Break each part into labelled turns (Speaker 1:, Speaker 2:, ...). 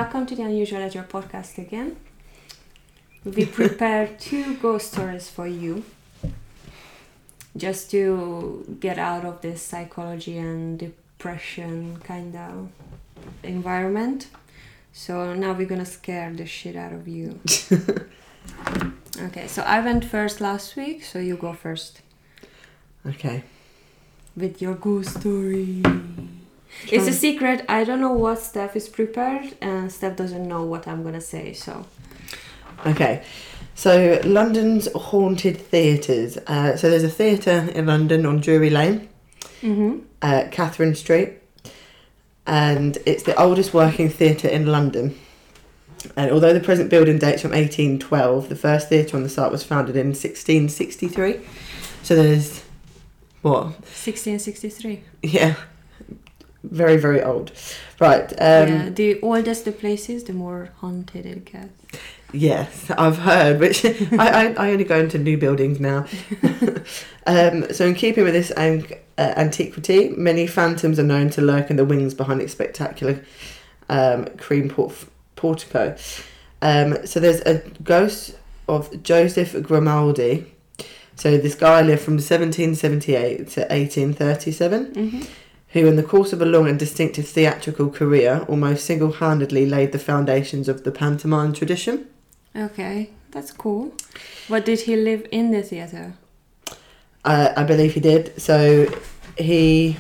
Speaker 1: welcome to the Unusual Ledger podcast again. We prepared 2 ghost stories for you, just to get out of this psychology and depression kind of environment. So now we're gonna scare the shit out of you. Okay, so I went first last week, so you go first.
Speaker 2: Okay.
Speaker 1: With your ghost story. It's a secret. I don't know what Steph is prepared, and Steph doesn't know what I'm gonna say, so...
Speaker 2: Okay. So, London's haunted theatres. So there's a theatre in London on Drury Lane, Catherine Street, and it's the oldest working theatre in London. And although the present building dates from 1812, the first theatre on the site was founded in 1663. So there's... What?
Speaker 1: 1663.
Speaker 2: Yeah. Very, very old. Right.
Speaker 1: Yeah, the oldest the place is, the more haunted it gets.
Speaker 2: Yes, I've heard, which I only go into new buildings now. So in keeping with this antiquity, many phantoms are known to lurk in the wings behind its spectacular cream portico. So there's a ghost of Joseph Grimaldi. So this guy lived from 1778 to 1837, who in the course of a long and distinctive theatrical career almost single-handedly laid the foundations of the pantomime tradition.
Speaker 1: Okay, that's cool. What, did he live in the theatre?
Speaker 2: I believe he did. So he...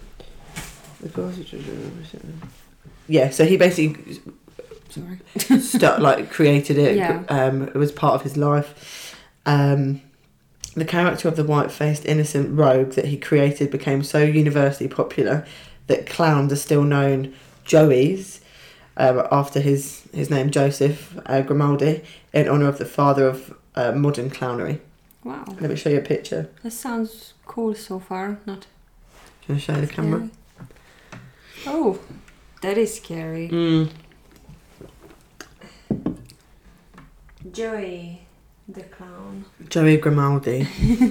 Speaker 2: Yeah, so he basically... created it.
Speaker 1: Yeah.
Speaker 2: It was part of his life. The character of the white-faced innocent rogue that he created became so universally popular that clowns are still known Joeys, after his name, Joseph Grimaldi, in honour of the father of modern clownery.
Speaker 1: Wow.
Speaker 2: Let me show you a picture.
Speaker 1: That sounds cool so far. Not.
Speaker 2: Do you want to show the camera?
Speaker 1: Oh, that is scary. Joey the clown.
Speaker 2: Joey Grimaldi.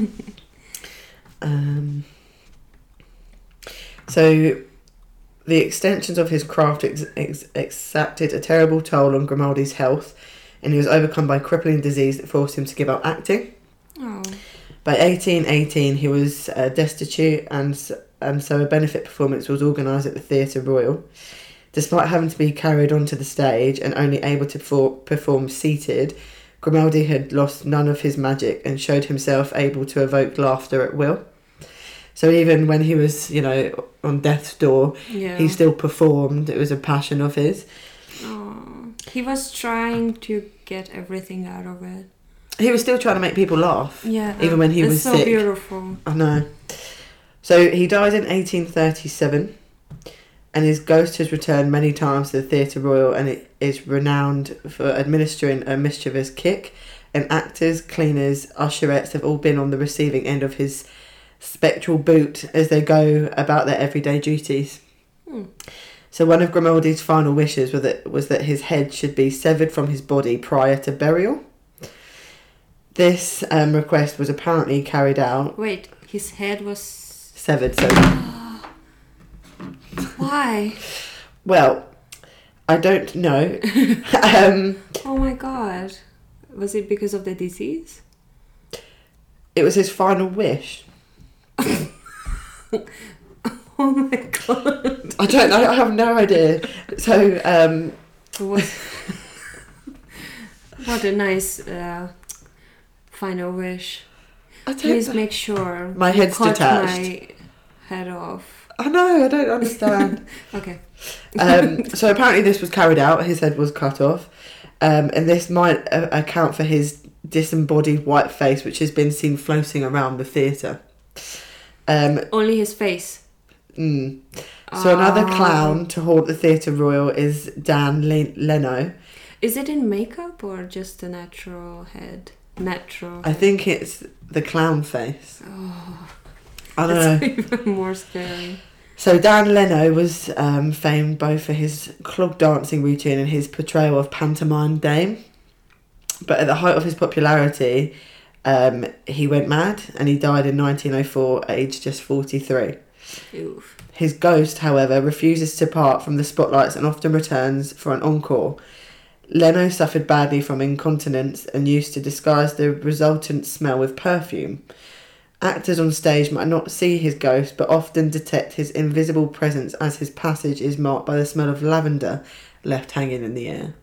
Speaker 2: So the extensions of his craft exacted a terrible toll on Grimaldi's health, and he was overcome by crippling disease that forced him to give up acting.
Speaker 1: Oh.
Speaker 2: By 1818, he was destitute, and so a benefit performance was organised at the Theatre Royal. Despite having to be carried onto the stage and only able to perform seated, Grimaldi had lost none of his magic and showed himself able to evoke laughter at will. So even when he was, on death's door, he still performed. It was a passion of his.
Speaker 1: Oh, he was trying to get everything out of it.
Speaker 2: He was still trying to make people laugh.
Speaker 1: Yeah.
Speaker 2: Even when he was
Speaker 1: so
Speaker 2: sick.
Speaker 1: It's so beautiful.
Speaker 2: I know. So he died in 1837, and his ghost has returned many times to the Theatre Royal, and it is renowned for administering a mischievous kick, and actors, cleaners, usherettes have all been on the receiving end of his spectral boot as they go about their everyday duties. So one of Grimaldi's final wishes was that his head should be severed from his body prior to burial. This request was apparently carried out.
Speaker 1: Wait, his head was...
Speaker 2: Severed, so...
Speaker 1: Why?
Speaker 2: Well, I don't know.
Speaker 1: Oh my god. Was it because of the disease?
Speaker 2: It was his final wish.
Speaker 1: Oh my god.
Speaker 2: I don't know, I have no idea. So,
Speaker 1: what a nice final wish. Please make sure
Speaker 2: my head's
Speaker 1: cut
Speaker 2: detached.
Speaker 1: My head off.
Speaker 2: I know, I don't understand.
Speaker 1: Okay.
Speaker 2: So apparently this was carried out, his head was cut off, and this might account for his disembodied white face, which has been seen floating around the theatre.
Speaker 1: Only his face.
Speaker 2: So another clown to haunt the Theatre Royal is Dan Leno.
Speaker 1: Is it in makeup or just a natural head?
Speaker 2: I think it's the clown face.
Speaker 1: Oh,
Speaker 2: I don't know.
Speaker 1: Even more scary.
Speaker 2: So Dan Leno was famed both for his clog dancing routine and his portrayal of pantomime dame. But at the height of his popularity, he went mad and he died in 1904, aged just 43.
Speaker 1: Oof.
Speaker 2: His ghost, however, refuses to part from the spotlights and often returns for an encore. Leno suffered badly from incontinence and used to disguise the resultant smell with perfume. Actors on stage might not see his ghost, but often detect his invisible presence as his passage is marked by the smell of lavender left hanging in the air.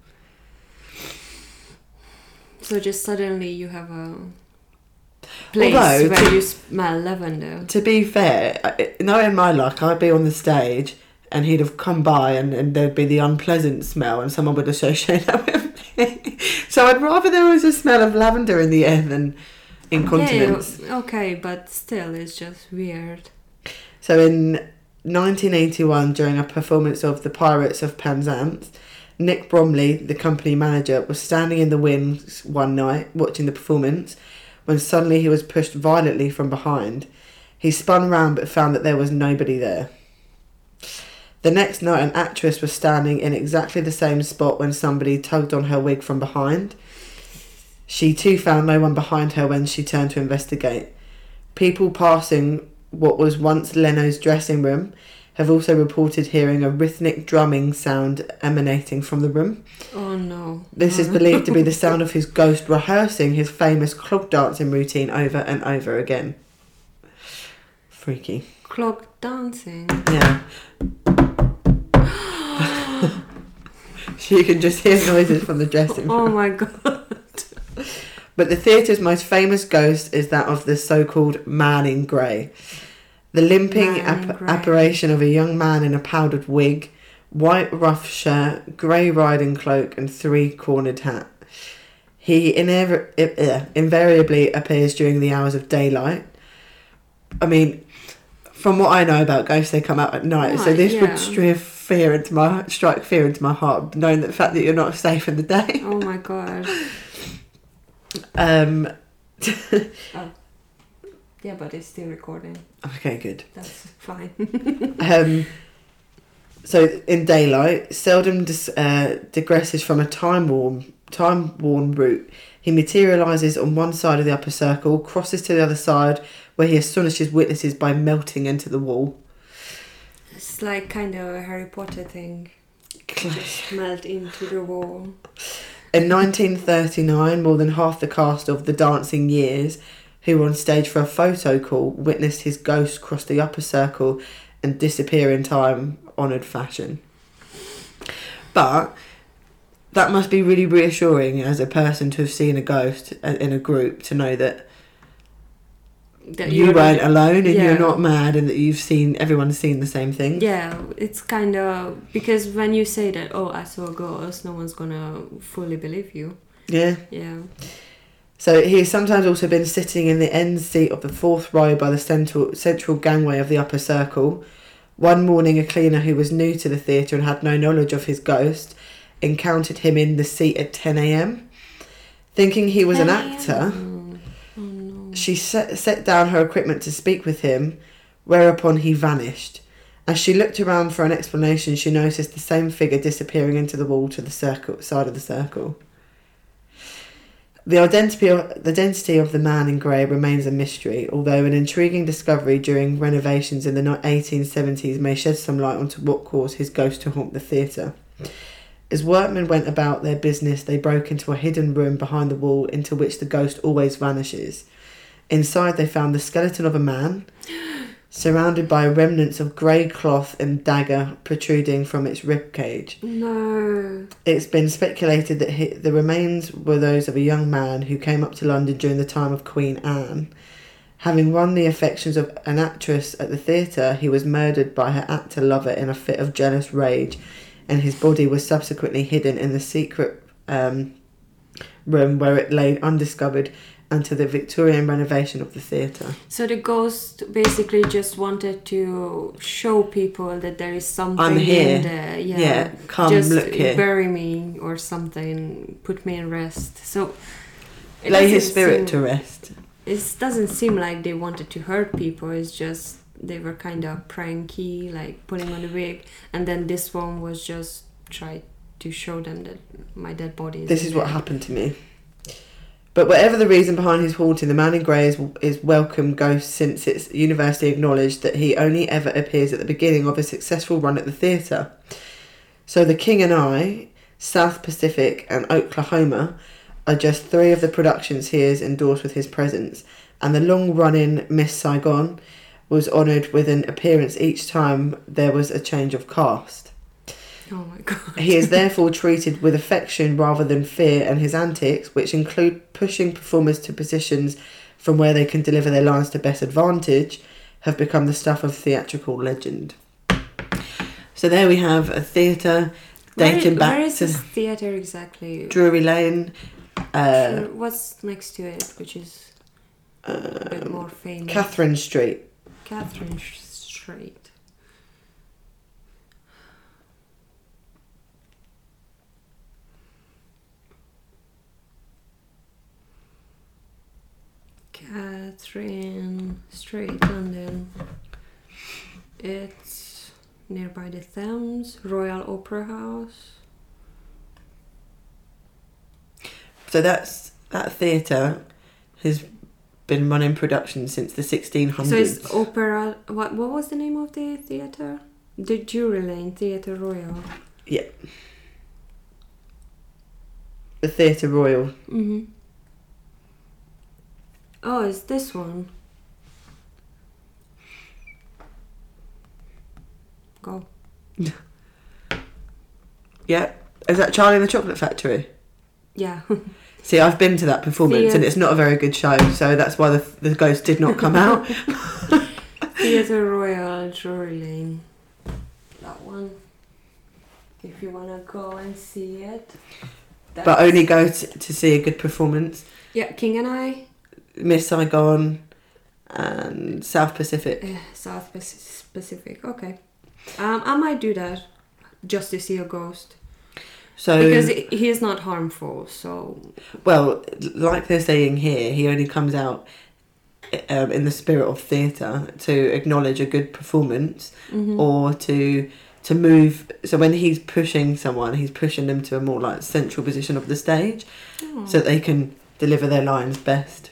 Speaker 1: So just suddenly you have a place where you smell lavender.
Speaker 2: To be fair, knowing my luck, I'd be on the stage and he'd have come by and there'd be the unpleasant smell and someone would associate that with me. So I'd rather there was a smell of lavender in the air than incontinence.
Speaker 1: Yeah, okay, but still, it's just weird.
Speaker 2: So in 1981, during a performance of The Pirates of Penzance, Nick Bromley, the company manager, was standing in the wings one night watching the performance when suddenly he was pushed violently from behind. He spun round but found that there was nobody there. The next night, an actress was standing in exactly the same spot when somebody tugged on her wig from behind. She too found no one behind her when she turned to investigate. People passing what was once Leno's dressing room have also reported hearing a rhythmic drumming sound emanating from the room.
Speaker 1: Oh no.
Speaker 2: This is believed to be the sound of his ghost rehearsing his famous clog dancing routine over and over again. Freaky.
Speaker 1: Clog dancing?
Speaker 2: Yeah. You can just hear noises from the dressing room.
Speaker 1: Oh my god.
Speaker 2: But the theatre's most famous ghost is that of the so-called man in grey. The limping apparition of a young man in a powdered wig, white rough shirt, grey riding cloak and three-cornered hat. He invariably appears during the hours of daylight. I mean, from what I know about ghosts, they come out at night, so this would strike fear into my heart, knowing the fact that you're not safe in the day.
Speaker 1: Oh my god. Yeah, but it's still recording.
Speaker 2: Okay, good.
Speaker 1: That's fine.
Speaker 2: So in daylight, seldom digresses from a time-worn route. He materialises on one side of the upper circle, crosses to the other side, where he astonishes witnesses by melting into the wall.
Speaker 1: It's like kind of a Harry Potter thing. Just melt into the wall.
Speaker 2: In 1939, more than half the cast of The Dancing Years, who were on stage for a photo call, witnessed his ghost cross the upper circle and disappear in time-honoured fashion. But that must be really reassuring as a person to have seen a ghost in a group, to know that you weren't alone and you're not mad, and that everyone's seen the same thing.
Speaker 1: Yeah, it's kind of, because when you say that, oh, I saw a ghost, no one's gonna fully believe you.
Speaker 2: Yeah.
Speaker 1: Yeah.
Speaker 2: So he's sometimes also been sitting in the end seat of the fourth row by the central gangway of the upper circle. One morning, a cleaner who was new to the theatre and had no knowledge of his ghost encountered him in the seat at 10 a.m. Thinking he was an actor, she set down her equipment to speak with him, whereupon he vanished. As she looked around for an explanation, she noticed the same figure disappearing into the wall to the side of the circle. The identity of the man in grey remains a mystery, although an intriguing discovery during renovations in the 1870s may shed some light onto what caused his ghost to haunt the theatre. As workmen went about their business, they broke into a hidden room behind the wall into which the ghost always vanishes. Inside they found the skeleton of a man, surrounded by remnants of grey cloth and dagger protruding from its ribcage.
Speaker 1: No.
Speaker 2: It's been speculated that the remains were those of a young man who came up to London during the time of Queen Anne. Having won the affections of an actress at the theatre, he was murdered by her actor lover in a fit of jealous rage, and his body was subsequently hidden in the secret room where it lay undiscovered until the Victorian renovation of the theatre.
Speaker 1: So the ghost basically just wanted to show people that there is something
Speaker 2: I'm here.
Speaker 1: in there.
Speaker 2: Yeah, come
Speaker 1: just
Speaker 2: look here.
Speaker 1: Bury me or something, put me in rest. So
Speaker 2: lay his spirit to rest.
Speaker 1: It doesn't seem like they wanted to hurt people. It's just they were kind of pranky, like putting on the wig, and then this one was just try to show them that my dead body is
Speaker 2: This is what happened to me. But whatever the reason behind his haunting, the man in grey is welcome ghost since its university acknowledged that he only ever appears at the beginning of a successful run at the theatre. So The King and I, South Pacific and Oklahoma are just 3 of the productions he has endorsed with his presence, and the long-running Miss Saigon was honoured with an appearance each time there was a change of cast.
Speaker 1: Oh my god.
Speaker 2: He is therefore treated with affection rather than fear, and his antics, which include pushing performers to positions from where they can deliver their lines to best advantage, have become the stuff of theatrical legend. So there we have a theatre dating back
Speaker 1: where is
Speaker 2: to
Speaker 1: this theatre exactly?
Speaker 2: Drury Lane.
Speaker 1: What's next to it, which is a bit more famous?
Speaker 2: Catherine Street.
Speaker 1: Catherine Street. Catherine Street, London. It's nearby the Thames, Royal Opera House.
Speaker 2: So that theatre has been running productions since the 1600s.
Speaker 1: So it's opera. What was the name of the theatre? The Drury Lane Theatre Royal.
Speaker 2: Yeah. The Theatre Royal.
Speaker 1: Mhm. Oh, it's this one. Go.
Speaker 2: Yeah. Is that Charlie and the Chocolate Factory?
Speaker 1: Yeah.
Speaker 2: See, I've been to that performance and it's not a very good show, so that's why the ghost did not come out.
Speaker 1: Theatre Royal, Drury Lane. That one. If you want to go and see it.
Speaker 2: But only go to see a good performance.
Speaker 1: Yeah, King and I.
Speaker 2: Miss Saigon and South Pacific.
Speaker 1: South Pacific, okay. I might do that just to see a ghost.
Speaker 2: So
Speaker 1: because he is not harmful, so...
Speaker 2: Well, like they're saying here, he only comes out in the spirit of theatre to acknowledge a good performance or to move. So when he's pushing someone, he's pushing them to a more like central position of the stage so that they can deliver their lines best.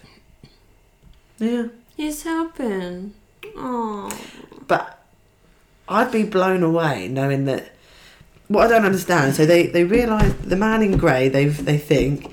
Speaker 2: Yeah.
Speaker 1: He's helping. Oh.
Speaker 2: But I'd be blown away knowing that. What I don't understand, so they realise the man in grey they think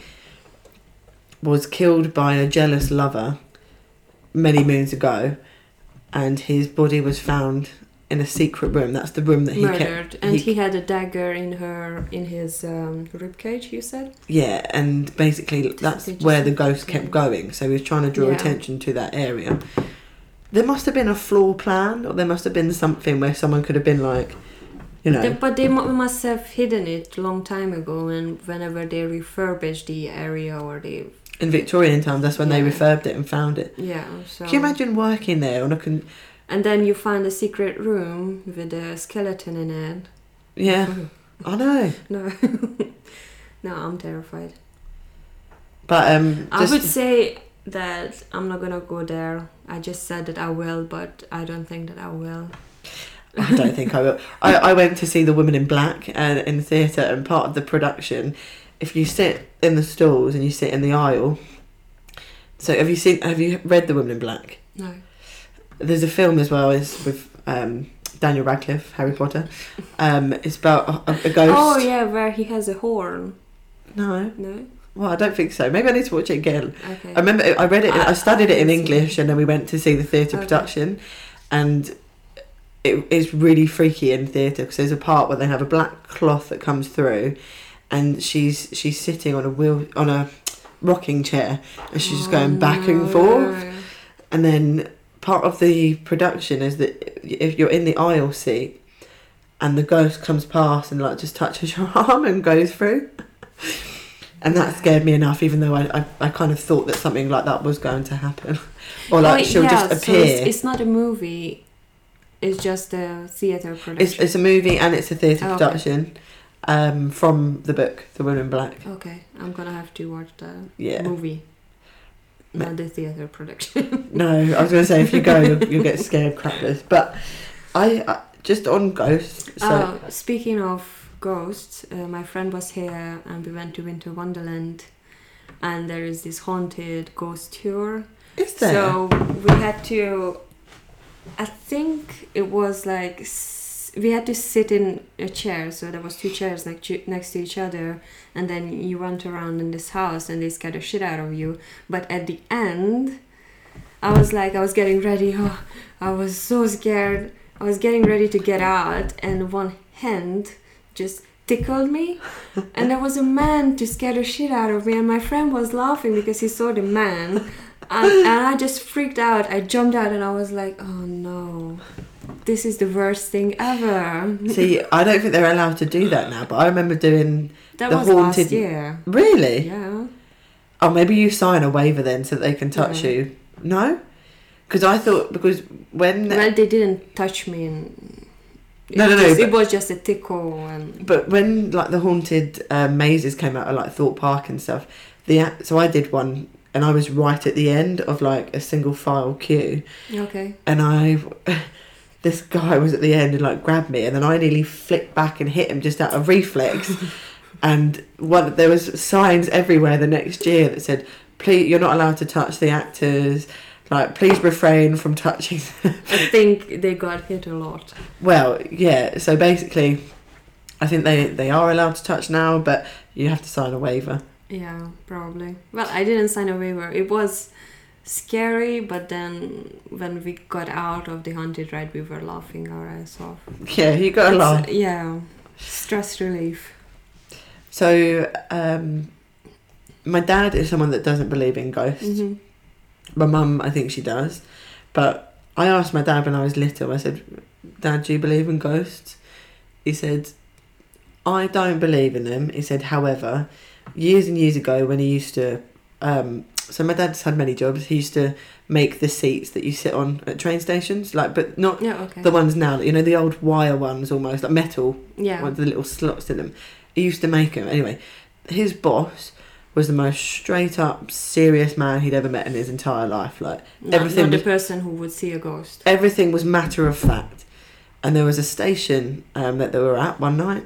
Speaker 2: was killed by a jealous lover many moons ago, and his body was found in a secret room. That's the room that he
Speaker 1: murdered,
Speaker 2: kept.
Speaker 1: And he had a dagger in his rib cage. You said.
Speaker 2: Yeah, and basically that's where the ghost kept going. So he was trying to draw attention to that area. There must have been a floor plan, or there must have been something where someone could have been like. You know.
Speaker 1: But they must have hidden it a long time ago, and whenever they refurbished the area or they...
Speaker 2: In Victorian times, that's when they refurbed it and found it.
Speaker 1: Yeah, so...
Speaker 2: Can you imagine working there
Speaker 1: and then you find a secret room with a skeleton in it.
Speaker 2: Yeah, I know.
Speaker 1: No. No, I'm terrified.
Speaker 2: But
Speaker 1: I would say that I'm not gonna go there. I just said that I will, but I don't think that I will.
Speaker 2: I don't think I will. I went to see The Woman in Black in the theatre, and part of the production, if you sit in the stalls and you sit in the aisle. So have you read The Woman in Black?
Speaker 1: No.
Speaker 2: There's a film as well. It's with Daniel Radcliffe, Harry Potter. It's about a ghost.
Speaker 1: Oh yeah, where he has a horn.
Speaker 2: No.
Speaker 1: No.
Speaker 2: Well, I don't think so. Maybe I need to watch it again.
Speaker 1: Okay.
Speaker 2: I remember I read it. I studied it in English, and then we went to see the theatre production, and. It is really freaky in theatre because there's a part where they have a black cloth that comes through, and she's sitting on a rocking chair, and she's just going back and forth. And then part of the production is that if you're in the aisle seat, and the ghost comes past and like just touches your arm and goes through, and that scared me enough, even though I kind of thought that something like that was going to happen, or like she'll just appear.
Speaker 1: So it's not a movie. It's just a theatre production.
Speaker 2: It's a movie and it's a theatre production from the book, The Woman in Black.
Speaker 1: Okay, I'm going to have to watch the
Speaker 2: movie.
Speaker 1: Not the theatre production.
Speaker 2: No, I was going to say if you go, you'll get scared crapless. But I just on ghosts. So.
Speaker 1: Speaking of ghosts, my friend was here and we went to Winter Wonderland and there is this haunted ghost tour.
Speaker 2: Is there?
Speaker 1: So we had to, I think it was like, we had to sit in a chair. So there was 2 chairs next to each other, and then you went around in this house and they scared the shit out of you. But at the end, I was getting ready. Oh, I was so scared. I was getting ready to get out, and one hand just tickled me, and there was a man to scare the shit out of me, and my friend was laughing because he saw the man, and I just freaked out. I jumped out and I was like, oh no, this is the worst thing ever.
Speaker 2: See, I don't think they're allowed to do that now, but I remember doing
Speaker 1: That
Speaker 2: the
Speaker 1: was
Speaker 2: haunted.
Speaker 1: last year.
Speaker 2: Really?
Speaker 1: Yeah.
Speaker 2: Oh, maybe you sign a waiver then so that they can touch
Speaker 1: Yeah.
Speaker 2: you. No? Because I thought, because when...
Speaker 1: Well, they didn't touch me.
Speaker 2: No.
Speaker 1: It was just a tickle. And
Speaker 2: But when, like, the haunted mazes came out of, like, Thorpe Park and stuff, so I did one, and I was right at the end of, like, a single file queue.
Speaker 1: okay.
Speaker 2: And this guy was at the end and, like, grabbed me, and then I nearly flicked back and hit him just out of reflex. And there was signs everywhere the next year that said, please, you're not allowed to touch the actors, like, please refrain from touching them.
Speaker 1: I think they got hit a lot.
Speaker 2: Well, yeah, so basically I think they are allowed to touch now, but you have to sign a waiver.
Speaker 1: Yeah, probably. Well, I didn't sign a waiver. It was scary, but then when we got out of the haunted ride, we were laughing our ass off.
Speaker 2: Yeah, you got to laugh.
Speaker 1: Yeah, stress relief.
Speaker 2: So my dad is someone that doesn't believe in ghosts.
Speaker 1: Mm-hmm.
Speaker 2: My mum, I think she does. But I asked my dad when I was little, I said, Dad, do you believe in ghosts? He said, I don't believe in them. He said, however, years and years ago when he used to... so my dad's had many jobs. He used to make the seats that you sit on at train stations, like, but not the ones now, you know, the old wire ones almost, like metal,
Speaker 1: Yeah.
Speaker 2: with the little slots in them. He used to make them. Anyway, his boss was the most straight up serious man he'd ever met in his entire life. Like, everything
Speaker 1: not the
Speaker 2: was,
Speaker 1: person who would see a ghost.
Speaker 2: everything was matter of fact. And there was a station that they were at one night,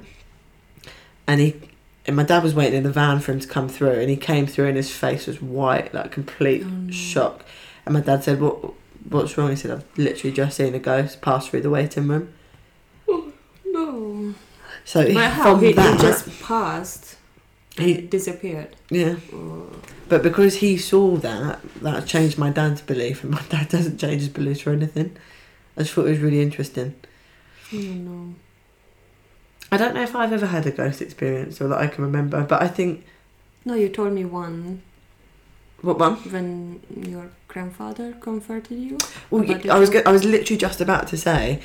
Speaker 2: and my dad was waiting in the van for him to come through, and he came through and his face was white, like complete shock. And my dad said, what's wrong? He said, I've literally just seen a ghost pass through the waiting room.
Speaker 1: Oh, no.
Speaker 2: So
Speaker 1: But how?
Speaker 2: from
Speaker 1: He
Speaker 2: that,
Speaker 1: just passed.
Speaker 2: He-
Speaker 1: He disappeared.
Speaker 2: yeah.
Speaker 1: Oh.
Speaker 2: But because he saw that changed my dad's belief, and my dad doesn't change his beliefs for anything. I just thought it was really interesting.
Speaker 1: Oh, no.
Speaker 2: I don't know if I've ever had a ghost experience or that I can remember, but I think...
Speaker 1: No, you told me one
Speaker 2: What one?
Speaker 1: when your grandfather comforted you.
Speaker 2: Well,
Speaker 1: About
Speaker 2: I was
Speaker 1: your-
Speaker 2: I was literally just about to say,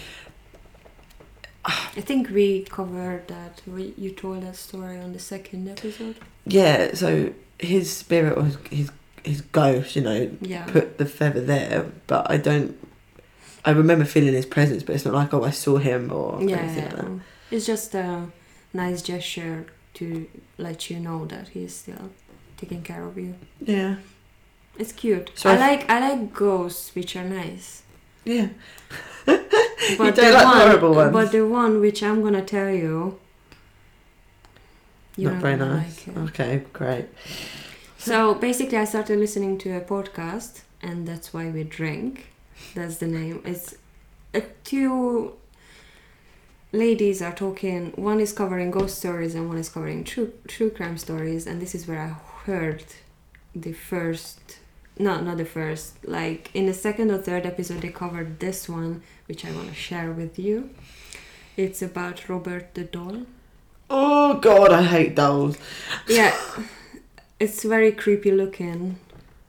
Speaker 1: I think we covered that. You told that story on the second episode.
Speaker 2: yeah, so his spirit was his ghost, you know,
Speaker 1: Yeah.
Speaker 2: put the feather there, but I remember feeling his presence, but it's not like, oh, I saw him or anything like that.
Speaker 1: It's just a nice gesture to let you know that he's still taking care of you.
Speaker 2: Yeah.
Speaker 1: It's cute.
Speaker 2: So
Speaker 1: I like ghosts which are nice.
Speaker 2: Yeah.
Speaker 1: But
Speaker 2: don't like horrible ones.
Speaker 1: But the one which I'm gonna tell you, you're
Speaker 2: Not very
Speaker 1: gonna
Speaker 2: nice.
Speaker 1: like it.
Speaker 2: Okay, great.
Speaker 1: So basically, I started listening to a podcast, and that's why we drink. That's the name. It's two ladies are talking. One is covering ghost stories, and one is covering true crime stories. And this is where I heard the first. No, not the first. Like in the second or third episode, they covered this one, which I want to share with you. It's about Robert the doll.
Speaker 2: Oh God, I hate dolls.
Speaker 1: Yeah, it's very creepy looking.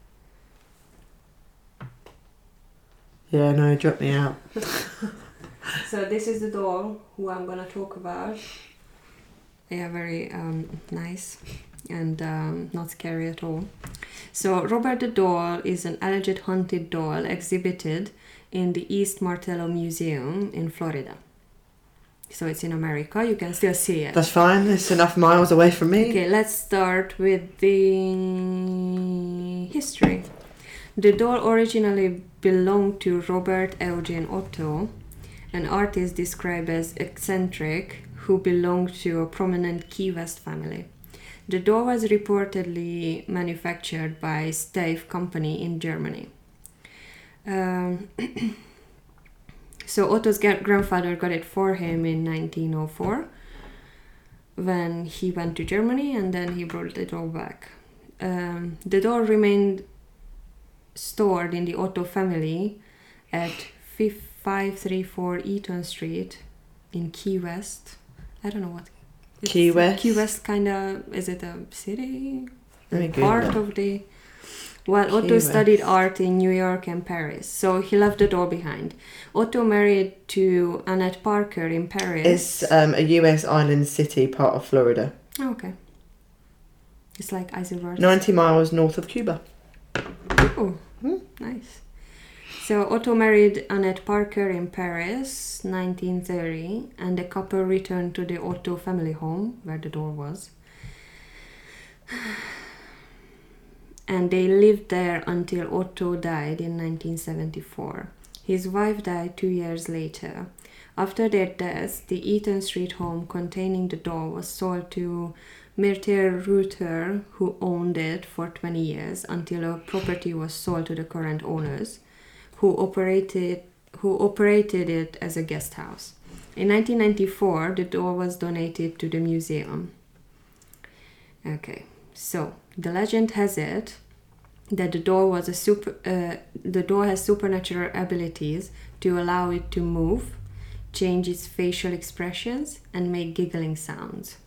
Speaker 2: Yeah, no, drop me out.
Speaker 1: So this is the doll who I'm gonna talk about. They are very nice and not scary at all. So Robert the doll is an alleged haunted doll exhibited in the East Martello Museum in Florida. So it's in America. You can still see it.
Speaker 2: That's fine. It's enough miles away from me.
Speaker 1: Okay, let's start with the history. The doll originally belonged to Robert Eugene Otto, an artist described as eccentric who belonged to a prominent Key West family. The door was reportedly manufactured by Stave Company in Germany. So Otto's grandfather got it for him in 1904 when he went to Germany, and then he brought the door back. The door remained stored in the Otto family at 534 Eaton Street in Key West. I don't know what.
Speaker 2: Key West?
Speaker 1: Key West kind of, is it a city?
Speaker 2: Let me
Speaker 1: Part
Speaker 2: Google
Speaker 1: of the... Well, Otto
Speaker 2: West.
Speaker 1: studied art in New York and Paris, so he left the door behind. Otto married to Annette Parker in Paris.
Speaker 2: It's a US island city, part of Florida.
Speaker 1: Oh, okay. It's like Isoverse.
Speaker 2: 90 miles north of Cuba.
Speaker 1: Oh, nice. So Otto married Annette Parker in Paris, 1930, and the couple returned to the Otto family home, where the door was. And they lived there until Otto died in 1974. His wife died 2 years later. After their deaths, the Eaton Street home containing the door was sold to Myrthe Reuter, who owned it for 20 years until a property was sold to the current owners, who operated it as a guest house. In 1994, the door was donated to the museum. Okay, so the legend has it that the door has supernatural abilities to allow it to move, change its facial expressions, and make giggling sounds.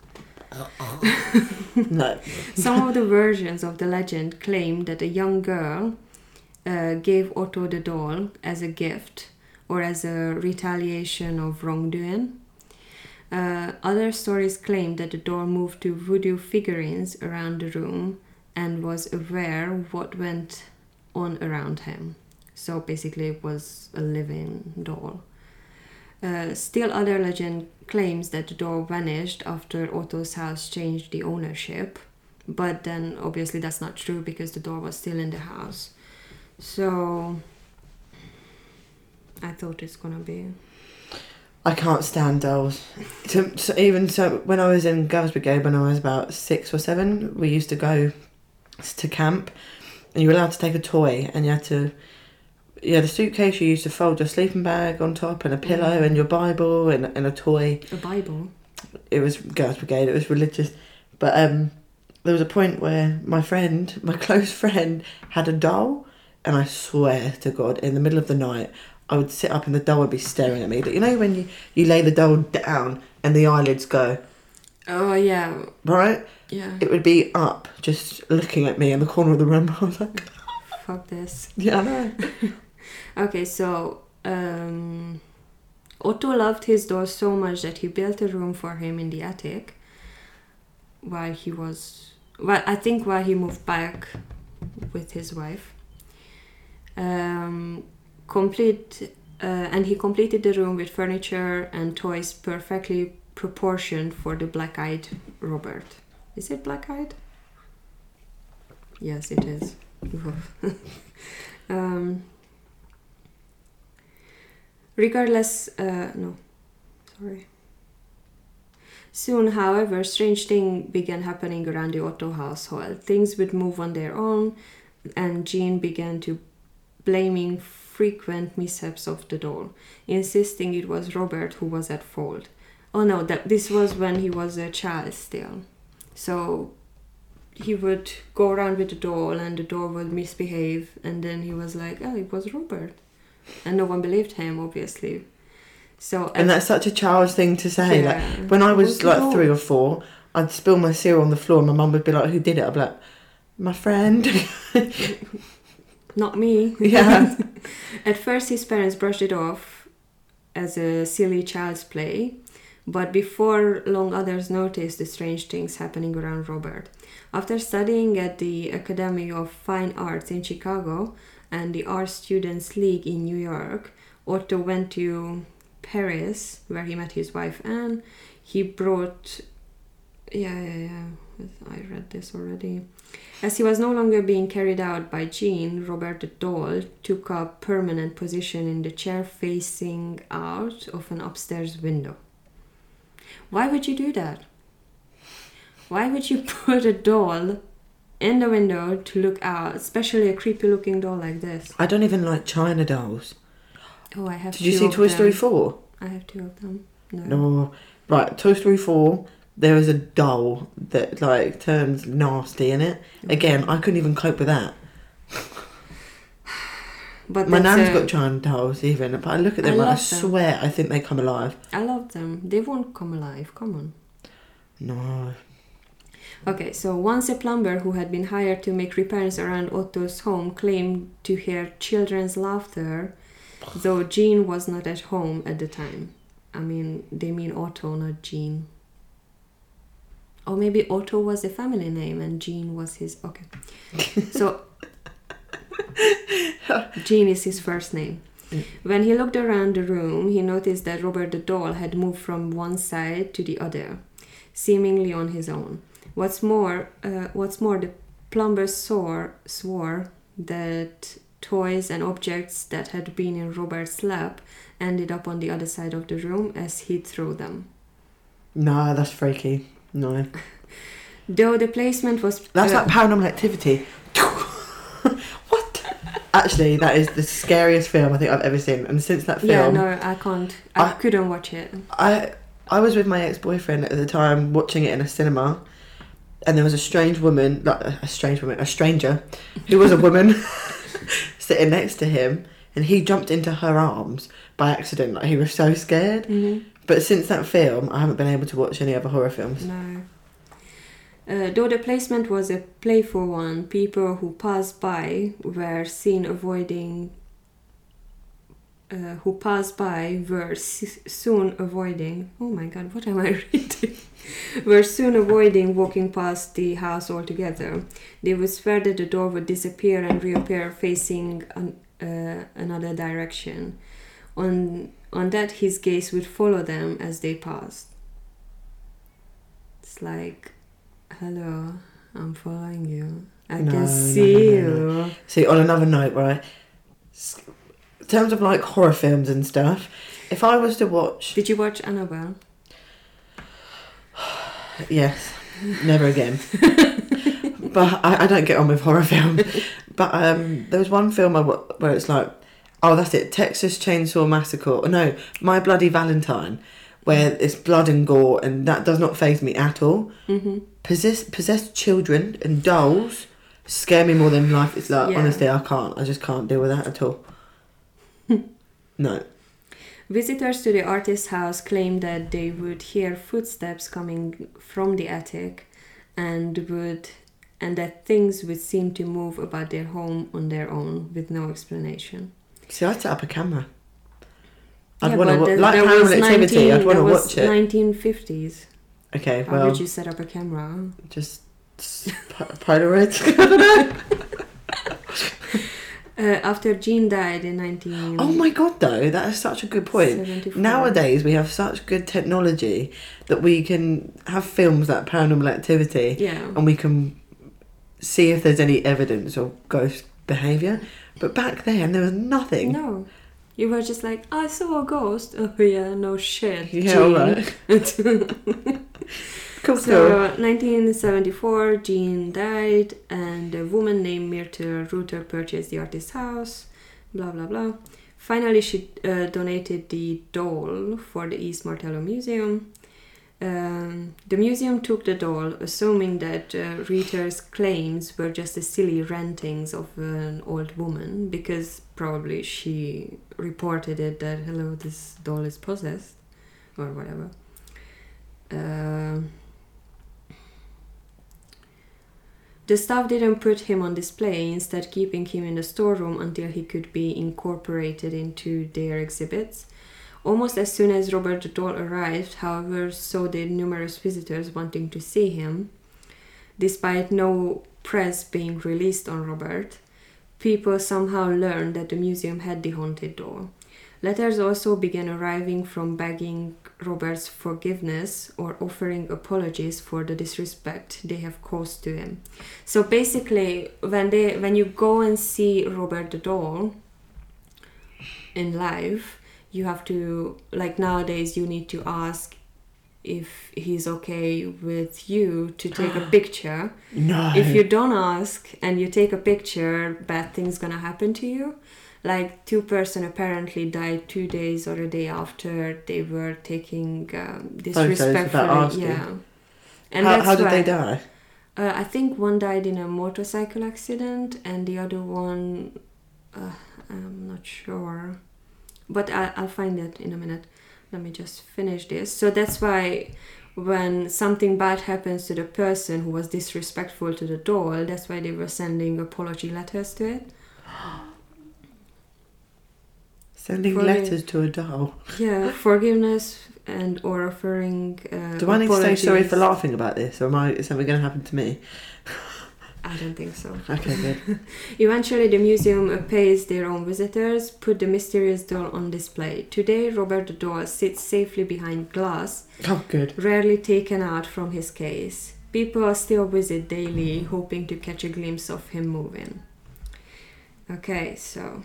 Speaker 2: No.
Speaker 1: Some of the versions of the legend claim that a young girl gave Otto the doll as a gift or as a retaliation of wrongdoing. Other stories claim that the door moved to voodoo figurines around the room and was aware what went on around him. So basically it was a living doll. Still other legend claims that the door vanished after Otto's house changed the ownership, but then obviously that's not true because the door was still in the house. So I thought it's gonna be...
Speaker 2: I can't stand dolls. So when I was in Girls Brigade, when I was about 6 or 7, we used to go to camp, and you were allowed to take a toy, and you had a suitcase you used to fold your sleeping bag on top, and a pillow, and your Bible, and a toy.
Speaker 1: A Bible?
Speaker 2: It was Girls Brigade, it was religious. But there was a point where my close friend, had a doll, and I swear to God, in the middle of the night, I would sit up and the doll would be staring at me. But you know when you lay the doll down and the eyelids go?
Speaker 1: Oh, yeah.
Speaker 2: Right?
Speaker 1: Yeah.
Speaker 2: It would be up, just looking at me in the corner of the room. I was like...
Speaker 1: Fuck this.
Speaker 2: Yeah, I know.
Speaker 1: Okay, so Otto loved his doll so much that he built a room for him in the attic while he moved back with his wife. And he completed the room with furniture and toys perfectly proportioned for the black-eyed Robert. Is it black-eyed? Yes, it is. Soon, however, strange things began happening around the Otto household. Things would move on their own, and Jean began to blaming frequent mishaps of the doll, insisting it was Robert who was at fault. Oh no, this was when he was a child still. So he would go around with the doll and the doll would misbehave, and then he was like, oh, it was Robert. And no one believed him, obviously. And
Speaker 2: that's such a child's thing to say.
Speaker 1: Yeah.
Speaker 2: Like when I was like 3 or 4, I'd spill my cereal on the floor and my mum would be like, who did it? I'd be like, my friend.
Speaker 1: Not me.
Speaker 2: Yeah.
Speaker 1: At first his parents brushed it off as a silly child's play, but before long others noticed the strange things happening around Robert. After studying at the Academy of Fine Arts in Chicago and the Art Students League in New York, Otto went to Paris, where he met his wife Anne. He brought... I read this already. As he was no longer being carried out by Jean, Robert the doll took a permanent position in the chair facing out of an upstairs window. Why would you do that? Why would you put a doll in the window to look out, especially a creepy looking doll like this?
Speaker 2: I don't even like China dolls.
Speaker 1: Oh, I have
Speaker 2: Did you see Toy Story 4?
Speaker 1: I have 2 of them. No.
Speaker 2: No. Right, Toy Story 4, there is a doll that, like, turns nasty in it. Again, I couldn't even cope with that.
Speaker 1: But
Speaker 2: my nan's got China dolls even, but I look at them and I swear I think they come alive.
Speaker 1: I love them. They won't come alive. Come on.
Speaker 2: No.
Speaker 1: Okay, so once a plumber who had been hired to make repairs around Otto's home claimed to hear children's laughter, though Jean was not at home at the time. I mean, they mean Otto, not Jean. Or maybe Otto was a family name and Jean was his... Okay. So, Jean is his first name. When he looked around the room, he noticed that Robert the doll had moved from one side to the other, seemingly on his own. What's more, the plumber swore that toys and objects that had been in Robert's lap ended up on the other side of the room as he threw them.
Speaker 2: No, that's freaky. No.
Speaker 1: Though the placement was...
Speaker 2: That's like Paranormal Activity. What? Actually, that is the scariest film I think I've ever seen. And since that film...
Speaker 1: Yeah, no, I can't. I couldn't watch it.
Speaker 2: I was with my ex-boyfriend at the time watching it in a cinema. And there was a stranger, who was a woman sitting next to him, and he jumped into her arms by accident. Like, he was so scared.
Speaker 1: Mm-hmm.
Speaker 2: But since that film, I haven't been able to watch any other horror films.
Speaker 1: No. Though the placement was a playful one, people who passed by were seen avoiding. Soon avoiding. Oh my God, what am I reading? Were soon avoiding walking past the house altogether. They would swear that the door would disappear and reappear facing another direction. On that, his gaze would follow them as they passed. It's like, hello, I'm following you. I can see you.
Speaker 2: See, on another note, right? In terms of like horror films and stuff, if I was to watch...
Speaker 1: Did you watch Annabelle?
Speaker 2: Yes, never again. But I don't get on with horror films. But there was one film where it's like, oh, that's it, Texas Chainsaw Massacre. Or no, My Bloody Valentine, where it's blood and gore, and that does not faze me at all.
Speaker 1: Mm-hmm.
Speaker 2: Possessed children and dolls scare me more than life. It's like, honestly, I just can't deal with that at all. No.
Speaker 1: Visitors to the artist's house claimed that they would hear footsteps coming from the attic and that things would seem to move about their home on their own with no explanation.
Speaker 2: See, I'd set up a camera. I'd want to like Paranormal Activity. I'd want to watch it.
Speaker 1: 1950s.
Speaker 2: Okay,
Speaker 1: How would you set up a camera?
Speaker 2: Just Polaroids. I don't know.
Speaker 1: After Jean died in 19...
Speaker 2: Oh my God, though, that is such a good point.
Speaker 1: 74.
Speaker 2: Nowadays, we have such good technology that we can have films like Paranormal Activity, and we can see if there's any evidence of ghost behaviour. But back then, there was nothing.
Speaker 1: No. You were just like, I saw a ghost. Oh yeah, no shit.
Speaker 2: Yeah, all right. Cool.
Speaker 1: 1974, Jean died, and a woman named Myrtle Ruther purchased the artist's house. Blah blah blah. Finally, she donated the doll for the East Martello Museum. The museum took the doll, assuming that Ruther's claims were just the silly rantings of an old woman, because probably she reported it that, hello, this doll is possessed, or whatever. The staff didn't put him on display, instead keeping him in the storeroom until he could be incorporated into their exhibits. Almost as soon as Robert the doll arrived, however, so did numerous visitors wanting to see him. Despite no press being released on Robert, people somehow learned that the museum had the haunted doll. Letters also began arriving from begging Robert's forgiveness or offering apologies for the disrespect they have caused to him. So basically, when you go and see Robert the doll in live, you have to, like nowadays, you need to ask if he's okay with you to take a picture.
Speaker 2: No.
Speaker 1: If you don't ask and you take a picture, bad things gonna happen to you. Like 2 person apparently died 2 days or a day after they were taking disrespectfully.
Speaker 2: asking.
Speaker 1: Yeah. And
Speaker 2: how did
Speaker 1: why,
Speaker 2: they die?
Speaker 1: I think one died in a motorcycle accident and the other one, I'm not sure. But I'll find it in a minute. Let me just finish this. So that's why when something bad happens to the person who was disrespectful to the doll, that's why they were sending apology letters to it.
Speaker 2: Sending letters to a doll.
Speaker 1: Yeah, forgiveness and or offering
Speaker 2: Do I need to say
Speaker 1: apologies.
Speaker 2: sorry for laughing about this, or is something going to happen to me?
Speaker 1: I don't think so.
Speaker 2: Okay, good.
Speaker 1: Eventually, the museum pays their own visitors, put the mysterious doll on display. Today, Robert the doll sits safely behind glass,
Speaker 2: Oh, good.
Speaker 1: rarely taken out from his case. People still visit daily, hoping to catch a glimpse of him moving. Okay, so...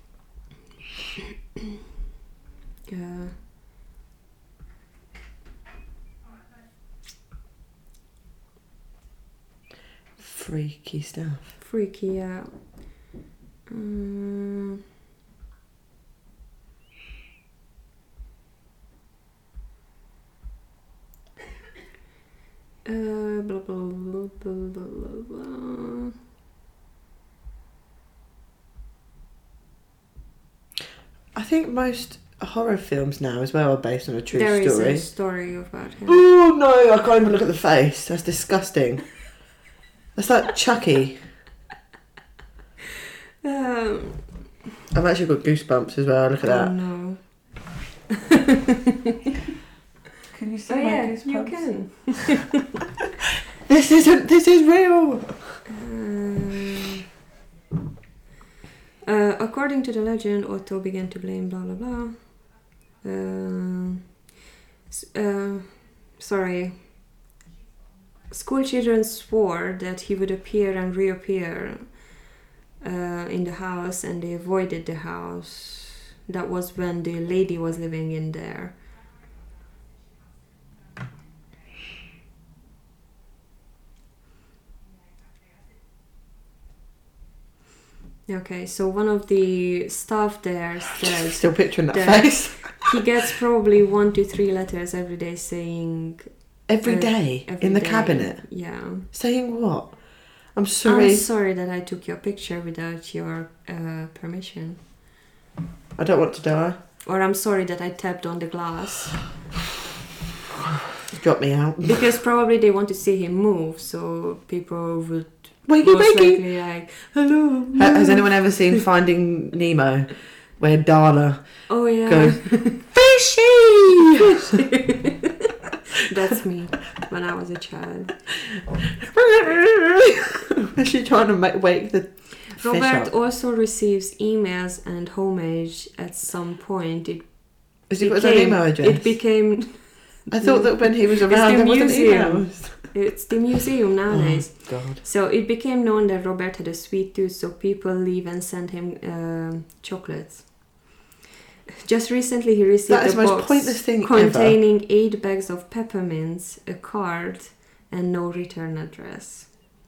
Speaker 2: Freaky stuff.
Speaker 1: freaky, yeah. Blah, blah, blah, blah, blah, blah.
Speaker 2: I think most horror films now as well are based on a true
Speaker 1: There
Speaker 2: story.
Speaker 1: is a story about him.
Speaker 2: Oh no, I can't even look at the face. That's disgusting. That's like Chucky. I've actually got goosebumps as well. Look at that.
Speaker 1: No.
Speaker 2: Can you see
Speaker 1: Oh yeah, you can.
Speaker 2: This is real.
Speaker 1: According to the legend, Otto began to blame blah blah blah. Sorry. School children swore that he would appear and reappear in the house, and they avoided the house. That was when the lady was living in there. Okay, so one of the staff there says
Speaker 2: Still picturing that
Speaker 1: that
Speaker 2: face.
Speaker 1: he gets probably 1 to 3 letters every day saying
Speaker 2: Every day
Speaker 1: every
Speaker 2: in the
Speaker 1: day.
Speaker 2: cabinet.
Speaker 1: Yeah.
Speaker 2: Saying what? I'm sorry.
Speaker 1: I'm sorry that I took your picture without your permission.
Speaker 2: I don't want to die.
Speaker 1: Or I'm sorry that I tapped on the glass.
Speaker 2: Got me out.
Speaker 1: Because probably they want to see him move, so people would
Speaker 2: Wakey,
Speaker 1: most
Speaker 2: wakey.
Speaker 1: likely like, hello.
Speaker 2: Has anyone ever seen Finding Nemo, where Darla
Speaker 1: Oh yeah.
Speaker 2: goes, fishy?
Speaker 1: That's me when I was a child.
Speaker 2: Is she trying to wake the fish
Speaker 1: Robert
Speaker 2: up?
Speaker 1: also receives emails and homage at some point.
Speaker 2: Has he got his own email address?
Speaker 1: It became...
Speaker 2: I thought that when he was around,
Speaker 1: the
Speaker 2: there wasn't
Speaker 1: museum.
Speaker 2: emails.
Speaker 1: It's the museum nowadays.
Speaker 2: Oh, God.
Speaker 1: So it became known that Robert had a sweet tooth, so people leave and send him chocolates. Just recently he received
Speaker 2: That is
Speaker 1: a
Speaker 2: the most
Speaker 1: box
Speaker 2: pointless thing
Speaker 1: containing 8 bags of peppermints, a card, and no return address.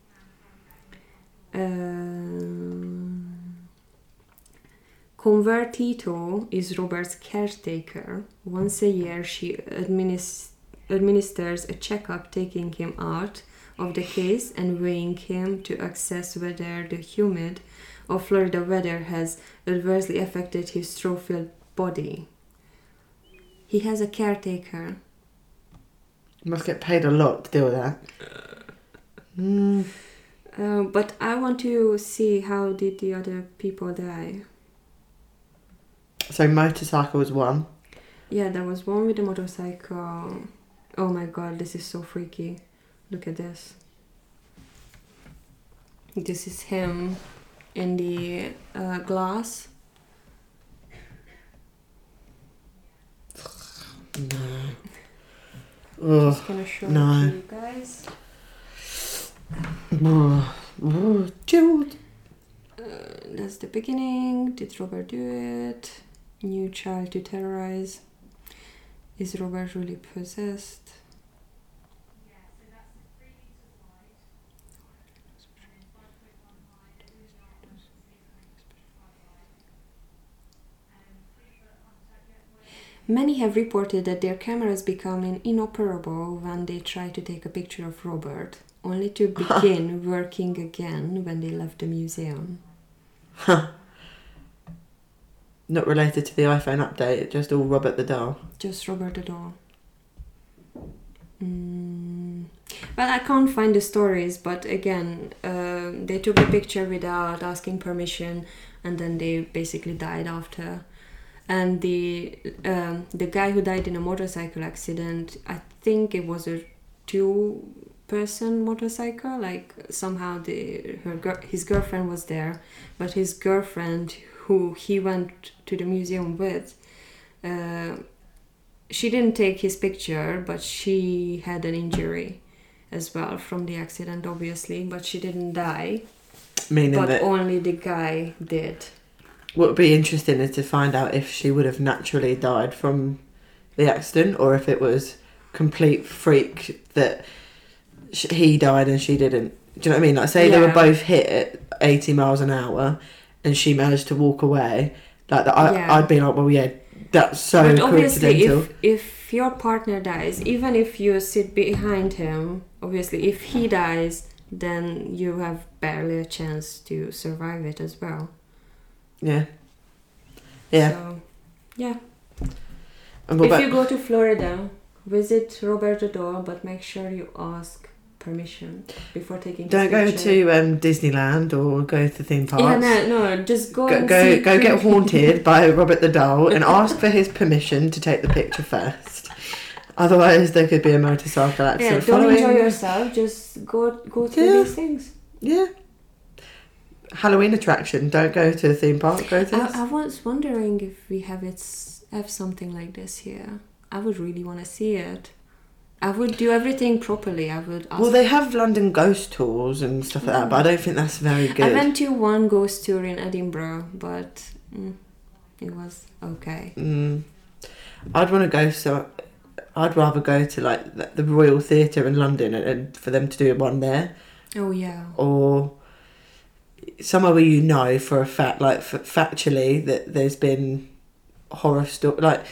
Speaker 1: Convertito is Robert's caretaker. Once a year she administers a checkup, taking him out of the case and weighing him to assess whether the humid or Florida weather has adversely affected his trophy body. He has a caretaker.
Speaker 2: You must get paid a lot to deal with that.
Speaker 1: But I want to see how did the other people die.
Speaker 2: So motorcycle was one.
Speaker 1: Yeah, there was one with the motorcycle. Oh my god, this is so freaky. Look at this. This is him in the glass.
Speaker 2: No.
Speaker 1: I'm just gonna show it to you guys.
Speaker 2: Chilled.
Speaker 1: That's the beginning. Did Robert do it? New child to terrorize. Is Robert really possessed? Many have reported that their cameras become inoperable when they try to take a picture of Robert, only to begin working again when they left the museum.
Speaker 2: Not related to the iPhone update, just all Robert the doll.
Speaker 1: Just Robert the doll. Well, I can't find the stories, but again, they took the picture without asking permission, and then they basically died after. And the guy who died in a motorcycle accident, I think it was a 2-person motorcycle. Like somehow his girlfriend was there, but his girlfriend, who he went to the museum with, she didn't take his picture, but she had an injury as well from the accident, obviously, but she didn't die.
Speaker 2: Meaning
Speaker 1: but
Speaker 2: that
Speaker 1: only the guy did.
Speaker 2: What would be interesting is to find out if she would have naturally died from the accident, or if it was complete freak that he died and she didn't. Do you know what I mean? Like, say they were both hit at 80 miles an hour and she managed to walk away. Like that, I'd be like, well, yeah, that's so
Speaker 1: but
Speaker 2: coincidental.
Speaker 1: Obviously, if your partner dies, even if you sit behind him, obviously, if he dies, then you have barely a chance to survive it as well.
Speaker 2: Yeah. Yeah.
Speaker 1: So, yeah.
Speaker 2: And
Speaker 1: if you go to Florida, visit Robert the doll, but make sure you ask permission before taking.
Speaker 2: Don't go to Disneyland or go to theme parks.
Speaker 1: Yeah, no, just go
Speaker 2: get haunted by Robert the doll and ask for his permission to take the picture first. Otherwise, there could be a motorcycle accident.
Speaker 1: Yeah, don't enjoy yourself. Just go to these things.
Speaker 2: Yeah. Halloween attraction. Don't go to a theme park. Go to.
Speaker 1: I was wondering if we have something like this here. I would really want to see it. I would do everything properly. I would ask.
Speaker 2: Well, they have London ghost tours and stuff like that, but I don't think that's very good.
Speaker 1: I went to one ghost tour in Edinburgh, but it was okay.
Speaker 2: I'd want to go. So I'd rather go to like the Royal Theatre in London and for them to do one there.
Speaker 1: Oh yeah.
Speaker 2: Or somewhere where you know for a fact, like factually, that there's been horror story. Like,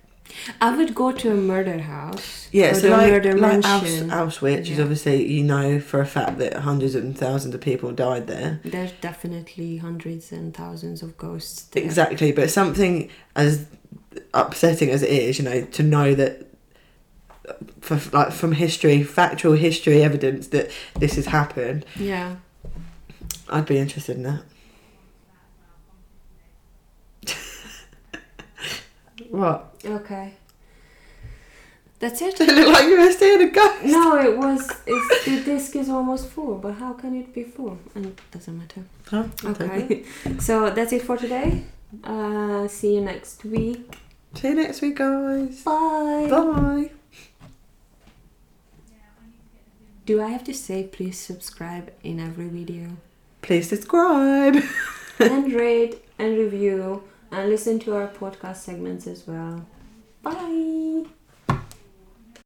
Speaker 1: I would go to a murder house.
Speaker 2: Yeah, so like
Speaker 1: mansion.
Speaker 2: Auschwitz is obviously, you know for a fact that hundreds and thousands of people died there.
Speaker 1: There's definitely hundreds and thousands of ghosts there.
Speaker 2: Exactly, but something as upsetting as it is, to know that from history, factual history evidence that this has happened.
Speaker 1: Yeah.
Speaker 2: I'd be interested in that. What?
Speaker 1: Okay. That's it.
Speaker 2: It looked like you were seeing a ghost.
Speaker 1: No, the disc is almost full, but how can it be full? And it doesn't matter.
Speaker 2: Huh?
Speaker 1: Okay. So that's it for today. See you next week.
Speaker 2: See you next week, guys.
Speaker 1: Bye.
Speaker 2: Bye.
Speaker 1: Do I have to say please subscribe in every video?
Speaker 2: Please subscribe.
Speaker 1: And rate and review and listen to our podcast segments as well. Bye.